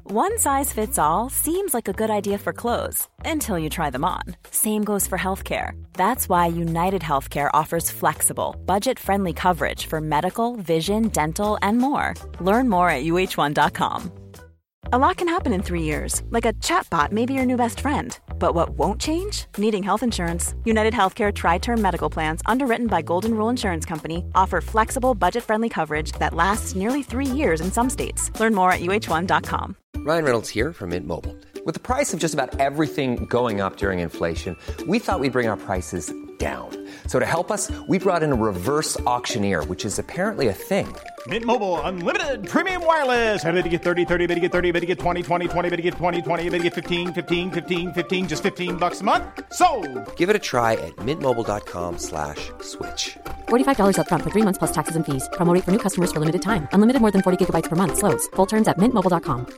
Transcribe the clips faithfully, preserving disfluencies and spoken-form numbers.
One size fits all seems like a good idea for clothes until you try them on. Same goes for healthcare. That's why United Healthcare offers flexible, budget-friendly coverage for medical, vision, dental, and more. Learn more at U H one dot com. A lot can happen in three years, like a chatbot may be your new best friend. But what won't change? Needing health insurance. United Healthcare Tri-Term Medical Plans, underwritten by Golden Rule Insurance Company, offer flexible, budget-friendly coverage that lasts nearly three years in some states. Learn more at U H one dot com. Ryan Reynolds here from Mint Mobile. With the price of just about everything going up during inflation, we thought we'd bring our prices down. So to help us, we brought in a reverse auctioneer, which is apparently a thing. Mint Mobile Unlimited Premium Wireless. How to get thirty, thirty, how to get thirty, how to get twenty, twenty, twenty, how to get twenty, twenty, how to get fifteen, fifteen, fifteen, fifteen, just fifteen bucks a month? Sold! Give it a try at mintmobile.com slash switch. forty-five dollars up front for three months plus taxes and fees. Promo rate for new customers for limited time. Unlimited more than forty gigabytes per month. Slows full terms at mint mobile dot com.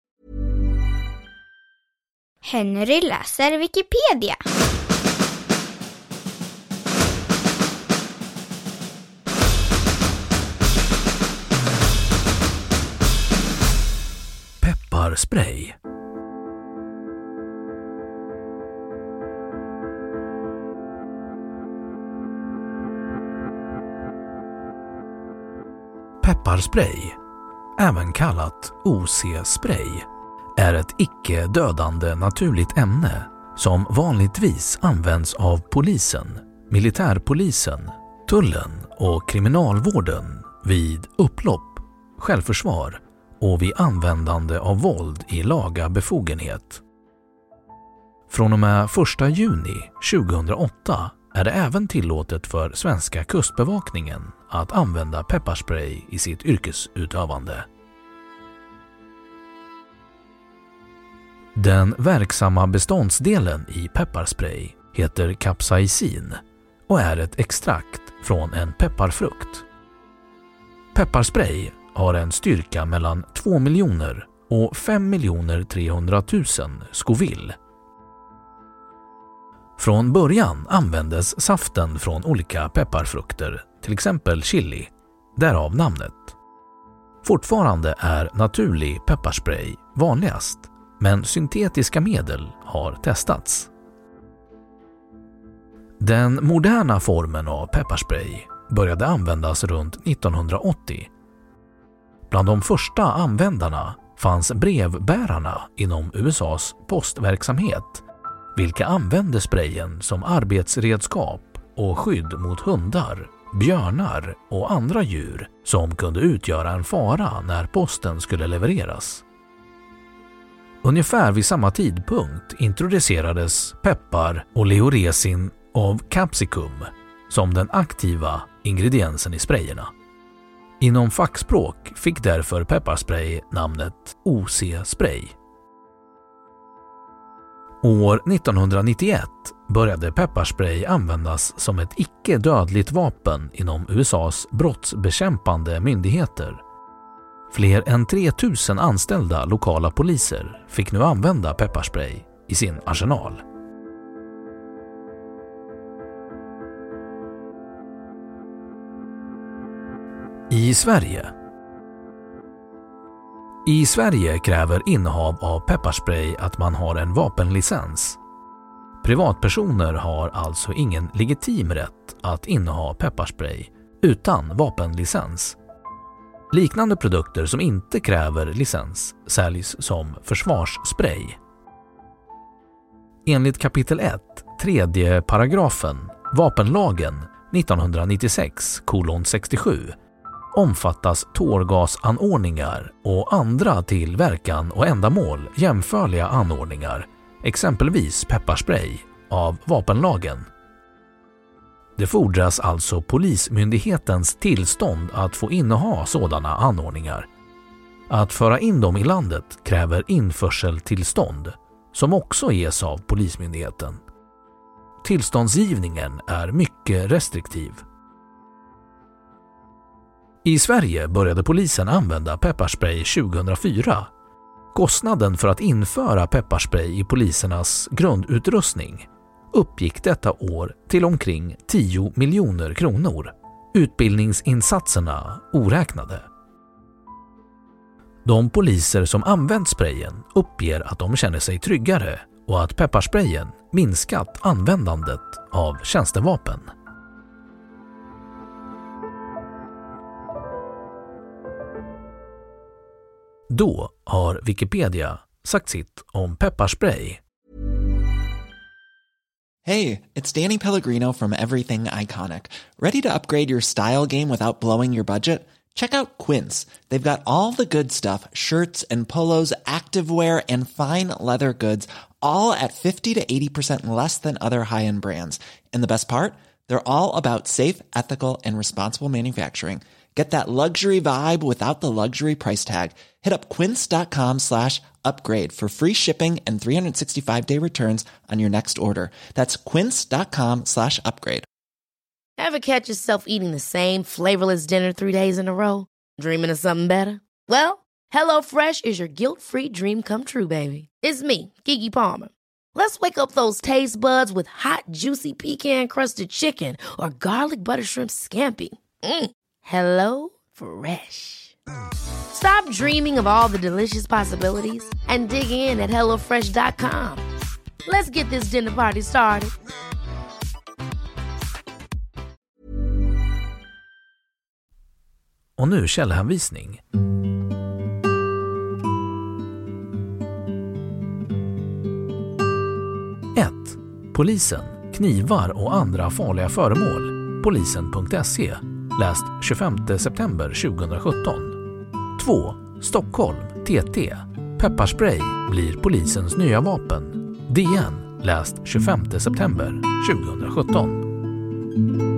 Henry läser Wikipedia. Pepparspray. Pepparspray, även kallat O C-spray, är ett icke-dödande naturligt ämne som vanligtvis används av polisen, militärpolisen, tullen och kriminalvården vid upplopp, självförsvar och vid användande av våld i laga befogenhet. Från och med första juni tjugohundraåtta är det även tillåtet för svenska kustbevakningen att använda pepparspray i sitt yrkesutövande. Den verksamma beståndsdelen i pepparspray heter capsaicin och är ett extrakt från en pepparfrukt. Pepparspray har en styrka mellan två miljoner och fem miljoner trehundratusen Scoville. Från början användes saften från olika pepparfrukter, till exempel chili, därav namnet. Fortfarande är naturlig pepparspray vanligast, men syntetiska medel har testats. Den moderna formen av pepparspray började användas runt nittonhundraåttio. Bland de första användarna fanns brevbärarna inom U S A:s postverksamhet, vilka använde sprayen som arbetsredskap och skydd mot hundar, björnar och andra djur som kunde utgöra en fara när posten skulle levereras. Ungefär vid samma tidpunkt introducerades peppar och oleoresin av capsicum som den aktiva ingrediensen i sprayerna. Inom fackspråk fick därför pepparspray namnet O C-spray. År nittonhundranittioett började pepparspray användas som ett icke-dödligt vapen inom U S A:s brottsbekämpande myndigheter. Fler än tre tusen anställda lokala poliser fick nu använda pepparspray i sin arsenal. I Sverige. I Sverige kräver innehav av pepparspray att man har en vapenlicens. Privatpersoner har alltså ingen legitim rätt att inneha pepparspray utan vapenlicens. Liknande produkter som inte kräver licens säljs som försvarsspray. Enligt kapitel ett, tredje paragrafen, vapenlagen nittonhundranittiosex kolon sextiosju omfattas tårgasanordningar och andra till verkan och ändamål jämförliga anordningar, exempelvis pepparspray, av vapenlagen. Det fordras alltså polismyndighetens tillstånd att få inneha sådana anordningar. Att föra in dem i landet kräver införseltillstånd, som också ges av polismyndigheten. Tillståndsgivningen är mycket restriktiv. I Sverige började polisen använda pepparspray tjugohundrafyra. Kostnaden för att införa pepparspray i polisernas grundutrustning uppgick detta år till omkring tio miljoner kronor, utbildningsinsatserna oräknade. De poliser som använt sprayen uppger att de känner sig tryggare och att pepparsprayen minskat användandet av tjänstevapen. Då har Wikipedia sagt sitt om pepparspray. Hey, it's Danny Pellegrino from Everything Iconic. Ready to upgrade your style game without blowing your budget? Check out Quince. They've got all the good stuff, shirts and polos, activewear, and fine leather goods, all at fifty to eighty percent less than other high-end brands. And the best part? They're all about safe, ethical, and responsible manufacturing. Get that luxury vibe without the luxury price tag. Hit up quince.com slash upgrade for free shipping and three sixty-five day returns on your next order. That's quince.com slash upgrade. Ever catch yourself eating the same flavorless dinner three days in a row? Dreaming of something better? Well, HelloFresh is your guilt-free dream come true, baby. It's me, Keke Palmer. Let's wake up those taste buds with hot, juicy pecan-crusted chicken or garlic butter shrimp scampi. Mm. Hello Fresh. Stop dreaming of all the delicious possibilities and dig in at hello fresh dot com. Let's get this dinner party started. Och nu källhänvisning. ett. Polisen, knivar och andra farliga föremål. polisen punkt se. Läst tjugofemte september tjugosjutton. två. Stockholm, T T. Pepparspray blir polisens nya vapen. D N. Läst tjugofemte september tjugosjutton.